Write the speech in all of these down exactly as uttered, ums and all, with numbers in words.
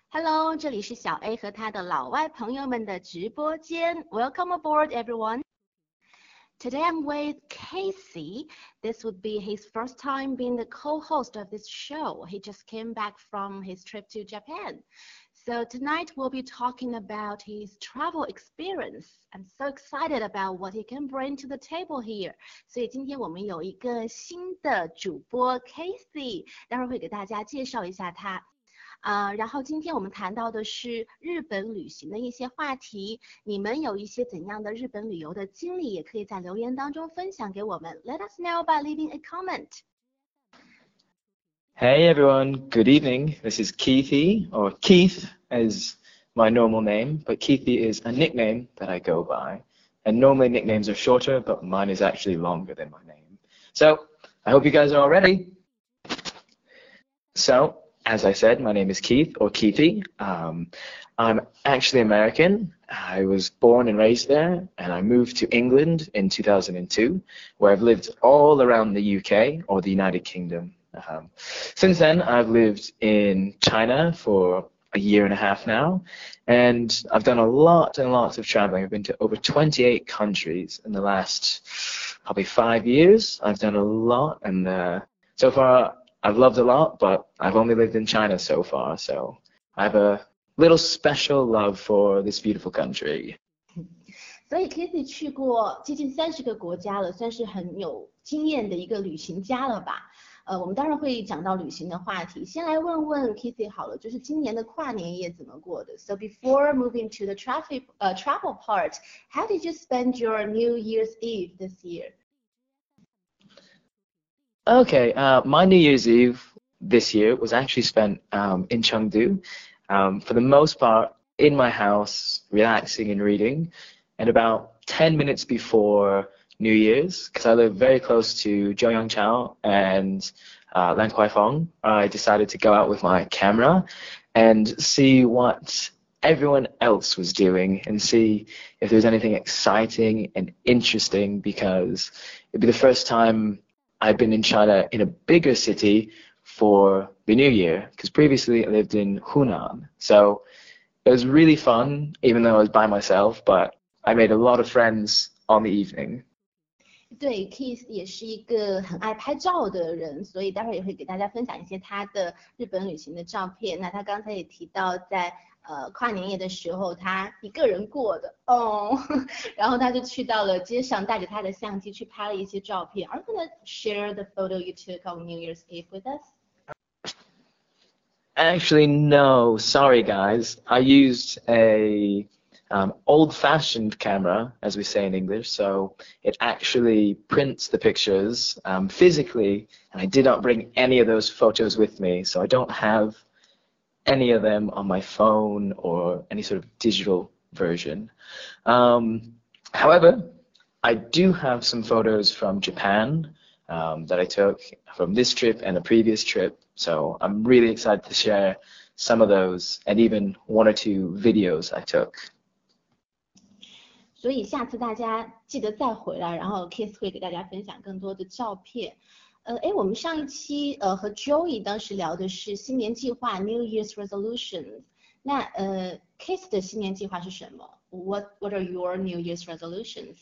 Hello，这里是小 A 和他的老外朋友们的直播间。Welcome aboard, everyone. Today I'm with Casey. This would be his first time being the co-host of this show. He just came back from his trip to Japan. So tonight we'll be talking about his travel experience. I'm so excited about what he can bring to the table here. 所以今天我们有一个新的主播 Casey， 待会儿会给大家介绍一下他。啊、呃，然后今天我们谈到的是日本旅行的一些话题，你们有一些怎样的日本旅游的经历，也可以在留言当中分享给我们。Let us know by leaving a comment. Hey everyone, good evening. This is Keithy, or Keith as my normal name, but Keithy is a nickname that I go by. And normally nicknames are shorter, but mine is actually longer than my name. So, I hope you guys are all ready. So, as I said, my name is Keith, or Keithy. Um, I'm actually American. I was born and raised there, and I moved to England in two thousand two, where I've lived all around the U K, or the United Kingdom. Um, since then, I've lived in China for a year and a half now, and I've done a lot and lots of traveling. I've been to over twenty-eight countries in the last probably five years. I've done a lot, and uh, so far, I've loved a lot, but I've only lived in China so far, so I have a little special love for this beautiful country. 所以 Casey 去过接近三十个国家了，算是很有经验的一个旅行家了吧？呃，我们当然会讲到旅行的话题。先来问问 Casey 好了，就是今年的跨年夜怎么过的 ？So before moving to the traffic, uh, travel part, how did you spend your New Year's Eve this year? Okay, uh, my New Year's Eve this year was actually spent um, in Chengdu, um, for the most part in my house, relaxing and reading. And about ten minutes before New Year's, because I live very close to Zhouyanchao and uh, Lan Kuaifeng, I decided to go out with my camera and see what everyone else was doing and see if there was anything exciting and interesting, because it'd be the first time I've been in China in a bigger city for the New Year, because previously I lived in Hunan. So it was really fun, even though I was by myself, but I made a lot of friends on the evening. 对 ，Keith 也是一个很爱拍照的人，所以待会儿也会给大家分享一些他的日本旅行的照片。那他刚才也提到在，呃跨年夜的时候，他一个人过的哦，然后他就去到了街上，带着他的相机去拍了一些照片。Are you gonna share the photo you took on New Year's Eve with us? Actually, no. Sorry, guys. I used a um, old-fashioned camera, as we say in English, so it actually prints the pictures um, physically, and I did not bring any of those photos with me, so I don't have any of them on my phone or any sort of digital version. Um, however, I do have some photos from Japan um, that I took from this trip and a previous trip, so I'm really excited to share some of those and even one or two videos I took. 所以下次大家记得再回来，然后 Keith 会给大家分享更多的照片。呃，哎，我们上一期呃和 Joey 当时聊的是新年计划 New Year's resolutions。那呃 Keith 的新年计划是什么 ？What What are your New Year's resolutions?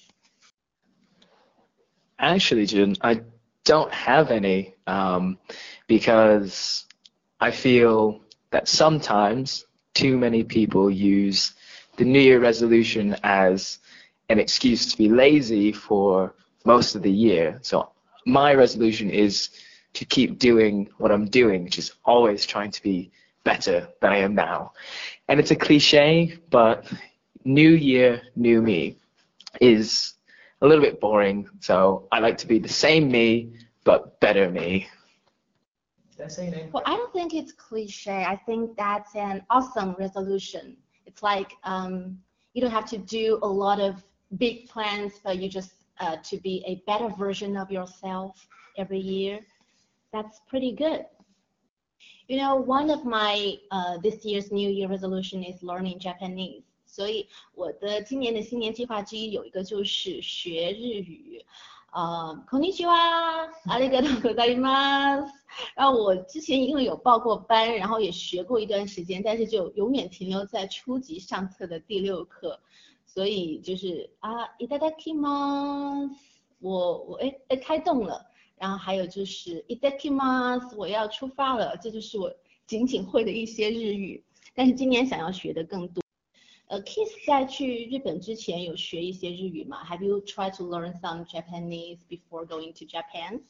Actually, Jun, I don't have any, um, because I feel that sometimes too many people use the New Year resolution as an excuse to be lazy for most of the year. So my resolution is to keep doing what I'm doing, which is always trying to be better than I am now. And it's a cliche, but New Year, New Me is a little bit boring. So I like to be the same me, but better me. Did I say your name? Well, I don't think it's cliche. I think that's an awesome resolution. It's like um, you don't have to do a lot of big plans, but you just uh, to be a better version of yourself every year. That's pretty good. You know, one of my uh, this year's New Year resolution is learning Japanese. 所以我的今年的新年计划之一有一个就是学日语。 呃，こんにちは，ありがとうございます。然后我之前因为有报过班，然后也学过一段时间，但是就永远停留在初级上册的第六课，所以就是啊，いただきます，我我哎哎开动了，然后还有就是いただきます，我要出发了，这就是我仅仅会的一些日语，但是今年想要学的更多。呃 ，Kiss 在去日本之前有学一些日语吗 ？Have you tried to learn some Japanese before going to Japan?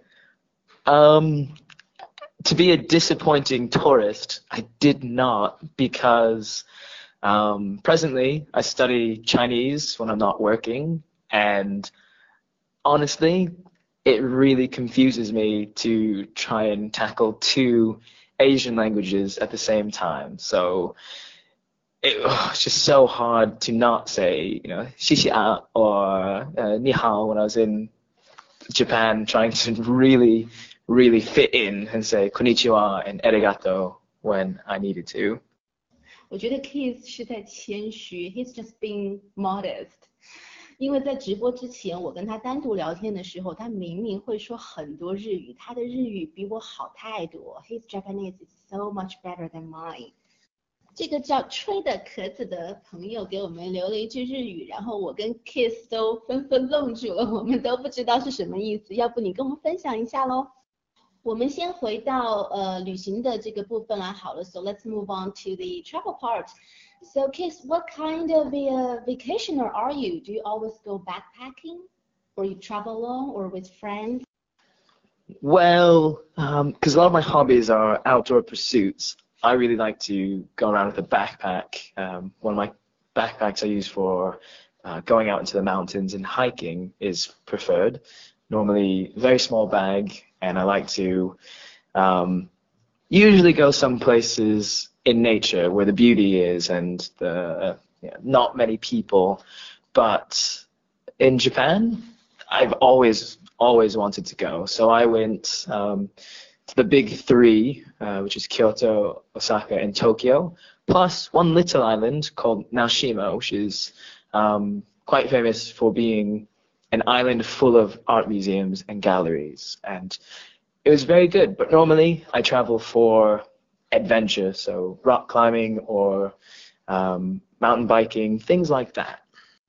Um, to be a disappointing tourist, I did not because um, presently I study Chinese when I'm not working, and honestly, it really confuses me to try and tackle two Asian languages at the same time. So it, oh, it's just so hard to not say, you know, 谢谢啊 or uh, 你好 when I was in Japan, trying to really, really fit in and say konnichiwa and arigato when I needed to. 我觉得 Kiss 是在谦虚 ，He's just being modest。因为在直播之前，我跟他单独聊天的时候，他明明会说很多日语，他的日语比我好太多。His Japanese is so much better than mine。这个叫吹的壳子的朋友给我们留了一句日语，然后我跟 Kiss 都纷纷愣住了，我们都不知道是什么意思。要不你跟我们分享一下咯？我们先回到呃旅行的这个部分来好了。So let's move on to the travel part. So Kiss, what kind of a vacationer are you? Do you always go backpacking, or you travel alone, or with friends? Well, because um, a lot of my hobbies are outdoor pursuits, I really like to go around with a backpack. Um, one of my backpacks I use for uh, going out into the mountains and hiking is preferred. Normally, very small bag, and I like to um, usually go some places in nature where the beauty is and the you know, not many people. But in Japan, I've always always wanted to go. So I went um, to the big three, uh, which is Kyoto, Osaka, and Tokyo, plus one little island called Naoshima, which is um, quite famous for being an island full of art museums and galleries. And it was very good, but normally I travel for adventure, so rock climbing or um, mountain biking, things like that.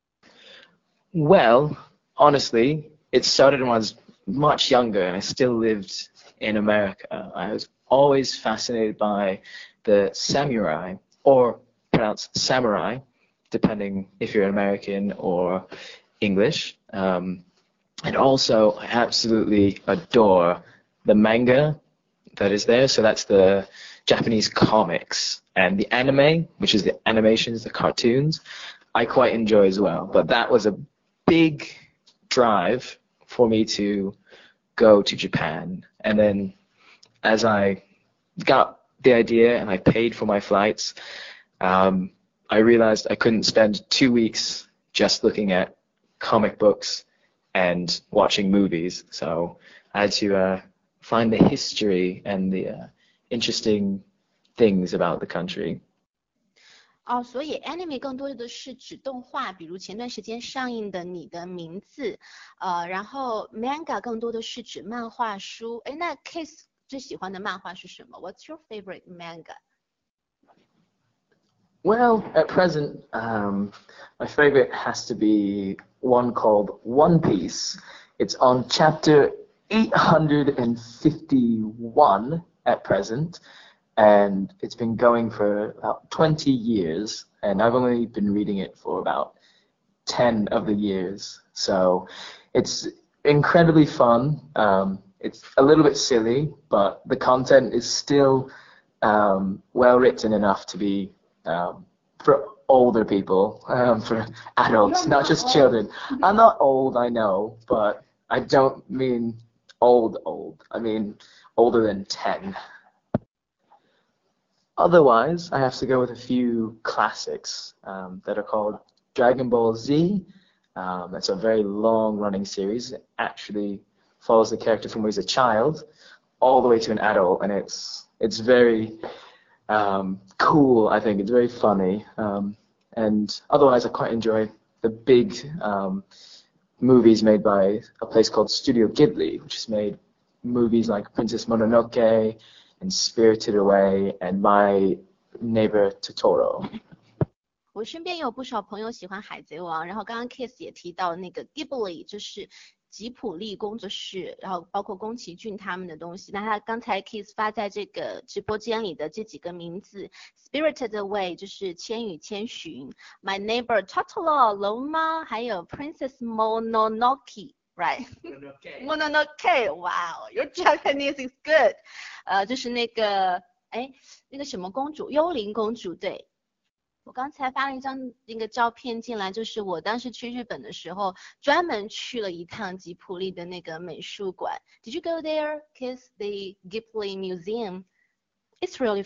Well, honestly, it started when I was much younger and I still lived in America. I was always fascinated by the samurai, or pronounced samurai, depending if you're American or English. Um, and also, I absolutely adore the manga that is there. So that's the Japanese comics, and the anime, which is the animations, the cartoons, I quite enjoy as well. But that was a big drive for me to go to Japan. And then as I got the idea and I paid for my flights, um, I realized I couldn't spend two weeks just looking at comic books and watching movies. So I had to uh, find the history and the uh, interesting things about the country. 哦，所以 anime 更多的是指动画，比如前段时间上映的《你的名字》，呃，然后 manga 更多的是指漫画书。哎，那 Kiss 最喜欢的漫画是什么 ？What's your favorite manga? Well, at present, um, my favorite has to be one called One Piece. It's on chapter eight hundred fifty-one at present, and it's been going for about twenty years, and I've only been reading it for about ten of the years. So it's incredibly fun. Um, it's a little bit silly, but the content is still um, well written enough to be um, for older people, um, for adults, not just children. I'm not old, I know, but I don't mean old old. I mean older than ten. Otherwise, I have to go with a few classics um, that are called Dragon Ball Z. Um, it's a very long-running series. It actually follows the character from when he's a child all the way to an adult, and it's it's very um, cool. I think it's very funny. Um, and otherwise, I quite enjoy the big um, movies made by a place called Studio Ghibli, which has made movies like Princess Mononoke and Spirited Away and My Neighbor Totoro. 我身边有不少朋友喜欢海贼王，然后刚刚 Kiss 也提到那个 Ghibli，就是吉普力工作室，然后包括宫崎骏他们的东西。那他刚才 Kiss 发在这个直播间里的这几个名字 ，Spirited Away 就是千与千寻 ，My Neighbor Totoro 龙猫，还有 Princess Mononoke。Right. Mononoke. Wow, your Japanese is good. 呃，就是那个，哎，那个什么公主，幽灵公主，对。我刚才发了一张那个照片进来，就是我当时去日本的时候，专门去了一趟吉普力的那个美术馆。Did you go there? Kiss the Ghibli Museum. It's really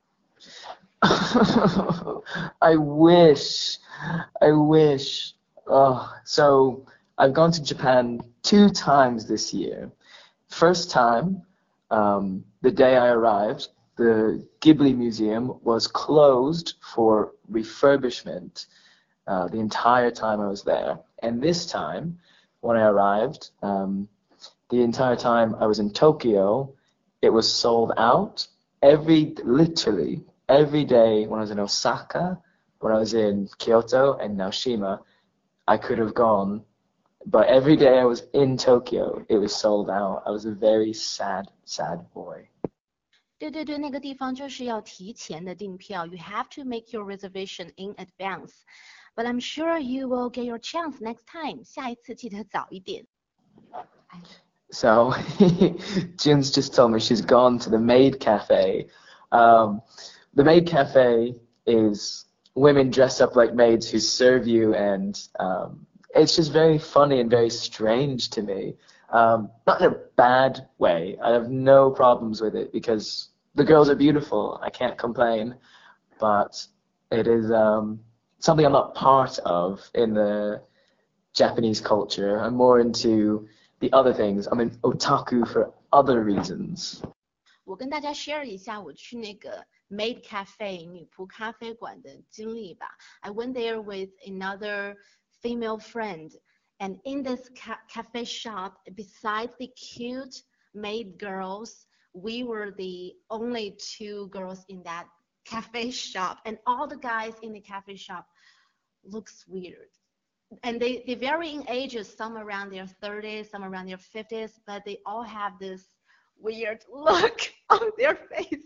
fun. I wish. I wish. Oh, so I've gone to Japan two times this year. First time, um, the day I arrived, the Ghibli Museum was closed for refurbishment uh, the entire time I was there. And this time, when I arrived, um, the entire time I was in Tokyo, it was sold out. Every, literally, every day when I was in Osaka, when I was in Kyoto and Naoshima, I could have gone. But every day I was in Tokyo, it was sold out. I was a very sad, sad boy. 对对对，那个地方就是要提前的订票。You have to make your reservation in advance. But I'm sure you will get your chance next time. 下一次记得早一点。 So, Jun's just told me she's gone to the Maid Cafe. Um, the Maid Cafe is women dress up like maids who serve you, and um, it's just very funny and very strange to me. Um, not in a bad way. I have no problems with it because the girls are beautiful. I can't complain. But it is um, something I'm not part of in the Japanese culture. I'm more into the other things. I'm an otaku for other reasons. 我跟大家 share 一下我去那个 Maid Cafe 女仆咖啡馆的经历吧。I went there with another female friend. And in this ca cafe shop, besides the cute maid girls, we were the only two girls in that cafe shop. And all the guys in the cafe shop looks weird. And they, they vary in ages, some around their thirties, some around their fifties, but they all have this weird look on their face.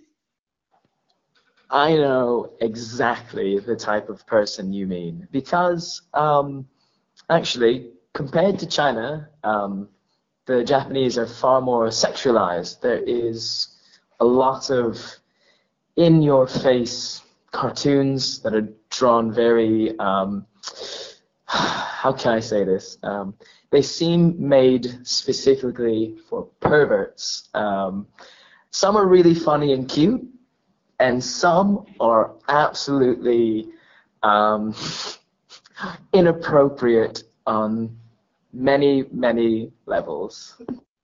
I know exactly the type of person you mean. Because, um, actually, compared to China, um, the Japanese are far more sexualized. There is a lot of in-your-face cartoons that are drawn very, um, how can I say this? Um, they seem made specifically for perverts. Um, some are really funny and cute, and some are absolutely um, inappropriate on many, many levels.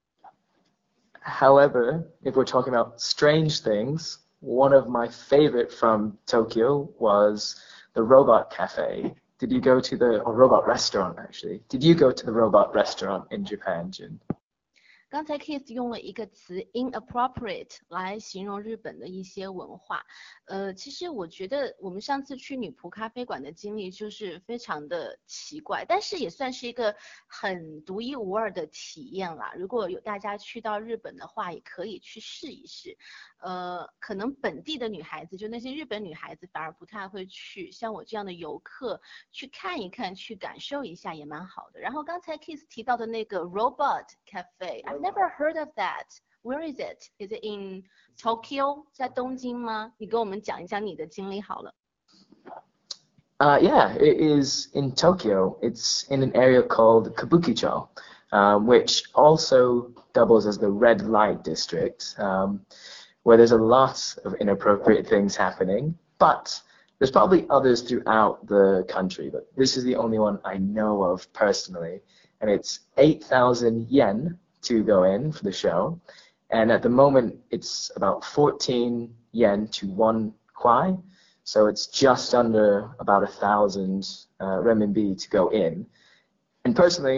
However, if we're talking about strange things, one of my favorite from Tokyo was the Robot Cafe. Did you go to the, or Robot Restaurant actually, did you go to the Robot Restaurant in Japan, Jun? 刚才 Kiss 用了一个词 inappropriate 来形容日本的一些文化。呃，其实我觉得我们上次去女仆咖啡馆的经历就是非常的奇怪，但是也算是一个很独一无二的体验啦。如果有大家去到日本的话，也可以去试一试。呃，可能本地的女孩子，就那些日本女孩子反而不太会去，像我这样的游客去看一看，去感受一下也蛮好的。然后刚才 Kiss 提到的那个 Robot Cafe。I've never heard of that. Where is it? Is it in Tokyo? 在东京吗？你跟我们讲一讲你的经历好了。 Uh, yeah, it is in Tokyo. It's in an area called Kabukicho, um, which also doubles as the red light district, um, where there's a lot of inappropriate things happening. But there's probably others throughout the country, but this is the only one I know of personally. And it's eight thousand yen to go in for the show. And at the moment, it's about fourteen yen to one kwai. So it's just under about a thousand uh, renminbi to go in. And personally,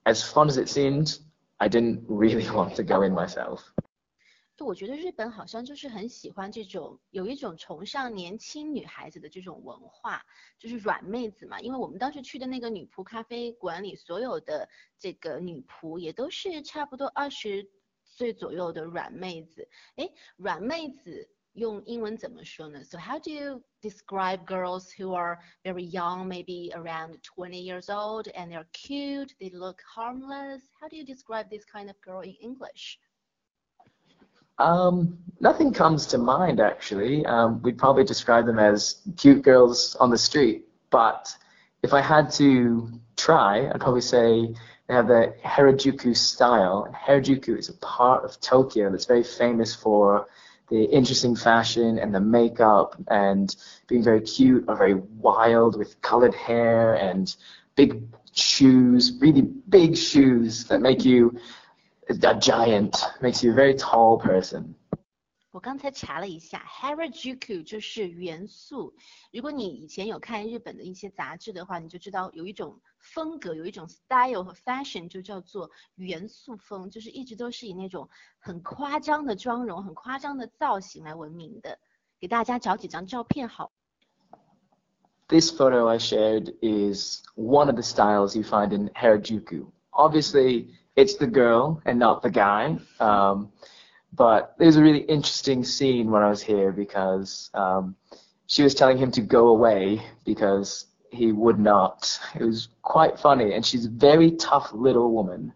as fun as it seemed, I didn't really want to go in myself. 我觉得日本好像就是很喜欢这种有一种崇尚年轻女孩子的这种文化，就是软妹子嘛。因为我们当时去的那个女仆咖啡馆里，所有的这个女仆也都是差不多二十岁左右的软妹子。诶，软妹子用英文怎么说呢？ So how do you describe girls who are very young, maybe around twenty years old, and they're cute, they look harmless? How do you describe this kind of girl in English? Um, nothing comes to mind, actually. Um, we'd probably describe them as cute girls on the street. But if I had to try, I'd probably say they have the Harajuku style. And Harajuku is a part of Tokyo that's very famous for the interesting fashion and the makeup and being very cute or very wild with colored hair and big shoes, really big shoes that make you a giant, makes you a very tall person. 我刚才查了一下 Harajuku 就是元素。如果你以前有看日本的一些杂志的话，你就知道有一种风格，有一种 style 和 fashion 就叫做元素风，就是一直都是以那种很夸张的妆容、很夸张的造型来闻名的。给大家找几张照片好。 This photo I shared is one of the styles you find in Harajuku. Obviously, it's the girl and not the guy. Um, but there's a really interesting scene when I was here because um, she was telling him to go away because he would not. It was quite funny, and she's a very tough little woman.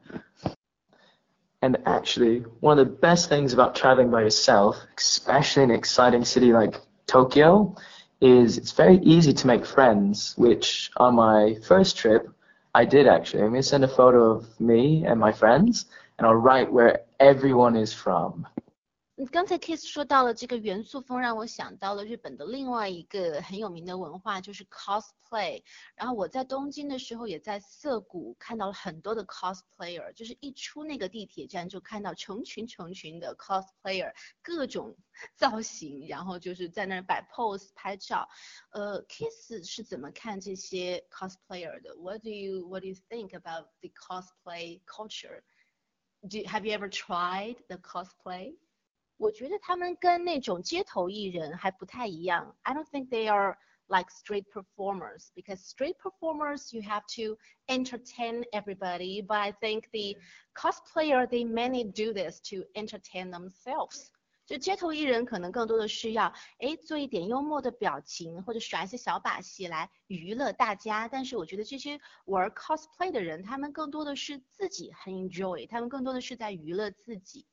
And actually, one of the best things about traveling by yourself, especially in an exciting city like Tokyo, is it's very easy to make friends, which on my first trip, I did actually. I'm going to send a photo of me and my friends, and I'll write where everyone is from. 刚才 Kiss 说到了这个元素风，让我想到了日本的另外一个很有名的文化，就是 cosplay。然后我在东京的时候，也在涩谷看到了很多的 cosplayer， 就是一出那个地铁站就看到成群成群的 cosplayer， 各种造型，然后就是在那儿摆 pose 拍照。呃 ，Kiss 是怎么看这些 cosplayer 的 ？What do you What do you think about the cosplay culture? Do Have you ever tried the cosplay? 我觉得他们跟那种街头艺人还不太一样。I don't think they are like street performers because street performers you have to entertain everybody, but I think the cosplayer they mainly do this to entertain themselves. 就街头艺人可能更多的是要哎做一点幽默的表情或者耍一些小把戏来娱乐大家，但是我觉得这些玩 cosplay 的人，他们更多的是自己很 enjoy， 他们更多的是在娱乐自己。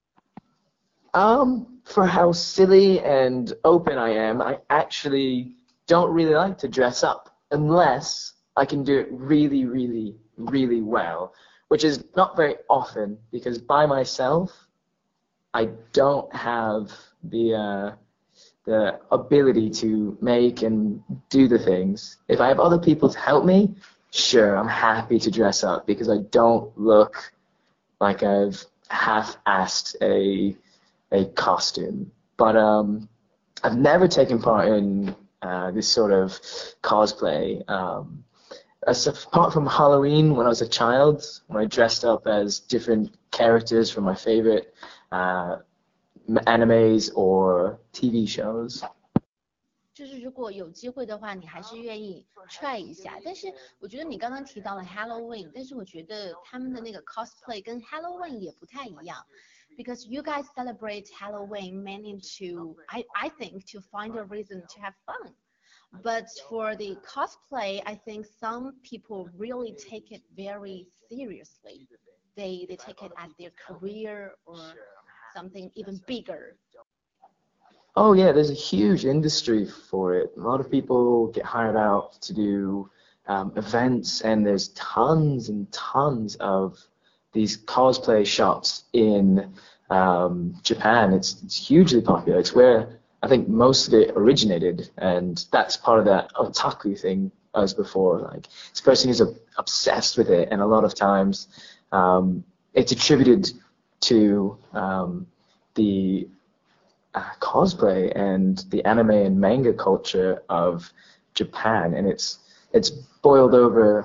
Um, for how silly and open I am, I actually don't really like to dress up unless I can do it really, really, really well, which is not very often because by myself, I don't have the uh, the ability to make and do the things. If I have other people to help me, sure, I'm happy to dress up because I don't look like I've half-assed a a costume. But um, I've never taken part in uh, this sort of cosplay. Um, apart from Halloween when I was a child, when I dressed up as different characters from my favorite uh, animes or T V shows. 就是如果有机会的话，你还是愿意 try 一下。但是我觉得你刚刚提到了 Halloween， 但是我觉得他们的那个 cosplay 跟 Halloween 也不太一样。Because you guys celebrate Halloween mainly to, I, I think, to find a reason to have fun. But for the cosplay, I think some people really take it very seriously. They, they take it as their career or something even bigger. Oh yeah, there's a huge industry for it. A lot of people get hired out to do um, events, and there's tons and tons of these cosplay shops in um, Japan. It's, it's hugely popular. It's where I think most of it originated, and that's part of that otaku thing as before. Like, this person is obsessed with it, and a lot of times um, it's attributed to um, the uh, cosplay and the anime and manga culture of Japan, and it's it's boiled over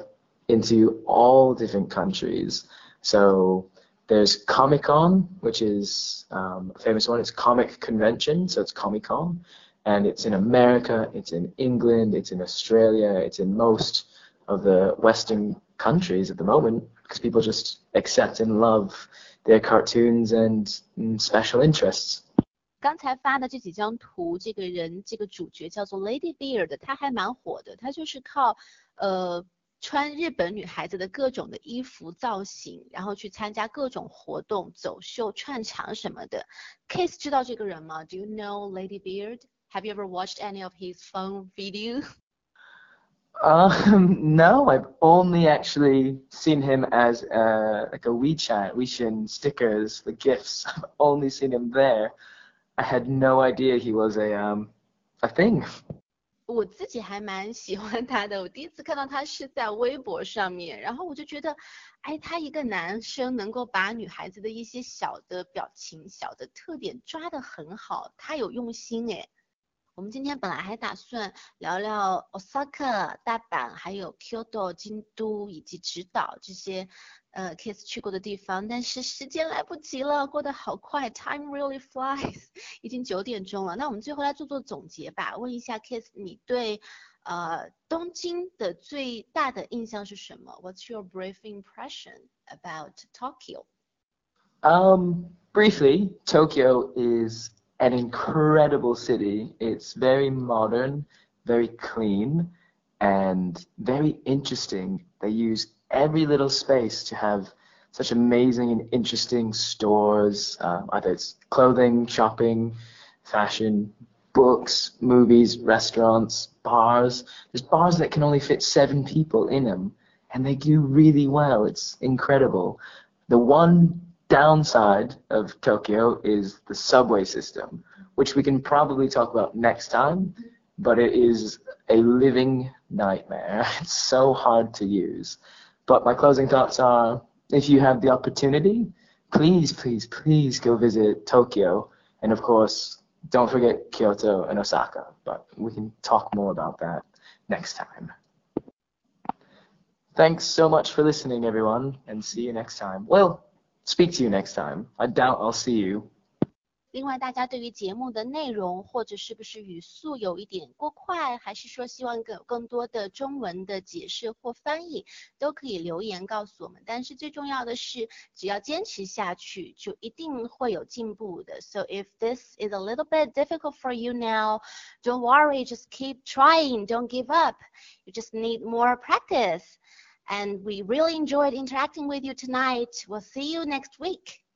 into all different countries. So there's Comic-Con, which is um, a famous one. It's Comic Convention, so it's Comic-Con. And it's in America, it's in England, it's in Australia, it's in most of the Western countries at the moment, because people just accept and love their cartoons and mm, special interests. 刚才发的这几张图，这个人这个主角叫做 Lady Beard， 他还蛮火的，他就是靠呃穿日本女孩子的各种的衣服造型，然后去参加各种活动、走秀、串场什么的。Case 知道这个人吗？ Do you know Lady Beard? Have you ever watched any of his fun videos? Um, no, I've only actually seen him as uh, like a WeChat, WeChat stickers, the gifts. I've only seen him there. I had no idea he was a um a thing. 我自己还蛮喜欢他的，我第一次看到他是在微博上面，然后我就觉得，哎，他一个男生能够把女孩子的一些小的表情、小的特点抓得很好，他有用心哎。我们今天本来还打算聊聊 Osaka 大阪，还有 Kyoto 京都以及直岛这些呃 Kiss 去过的地方，但是时间来不及了，过得好快 ，Time really flies， 已经九点钟了。那我们最后来做做总结吧，问一下 Kiss， 你对呃东京的最大的印象是什么 ？What's your brief impression about Tokyo? Um, briefly, Tokyo is an incredible city. It's very modern, very clean, and very interesting. They use every little space to have such amazing and interesting stores, uh, either it's clothing, shopping, fashion, books, movies, restaurants, bars. There's bars that can only fit seven people in them, and they do really well. It's incredible. The one downside of Tokyo is the subway system, which we can probably talk about next time, but it is a living nightmare. It's so hard to use. But my closing thoughts are, if you have the opportunity, please, please, please go visit Tokyo. And of course, don't forget Kyoto and Osaka, but we can talk more about that next time. Thanks so much for listening, everyone, and see you next time. Well, speak to you next time. I doubt I'll see you. 另外，大家对于节目的内容或者是不是语速有一点过快，还是说希望更有更多的中文的解释或翻译，都可以留言告诉我们。但是最重要的是，只要坚持下去，就一定会有进步的。So if this is a little bit difficult for you now, don't worry, just keep trying, don't give up. You just need more practice. And we really enjoyed interacting with you tonight. We'll see you next week.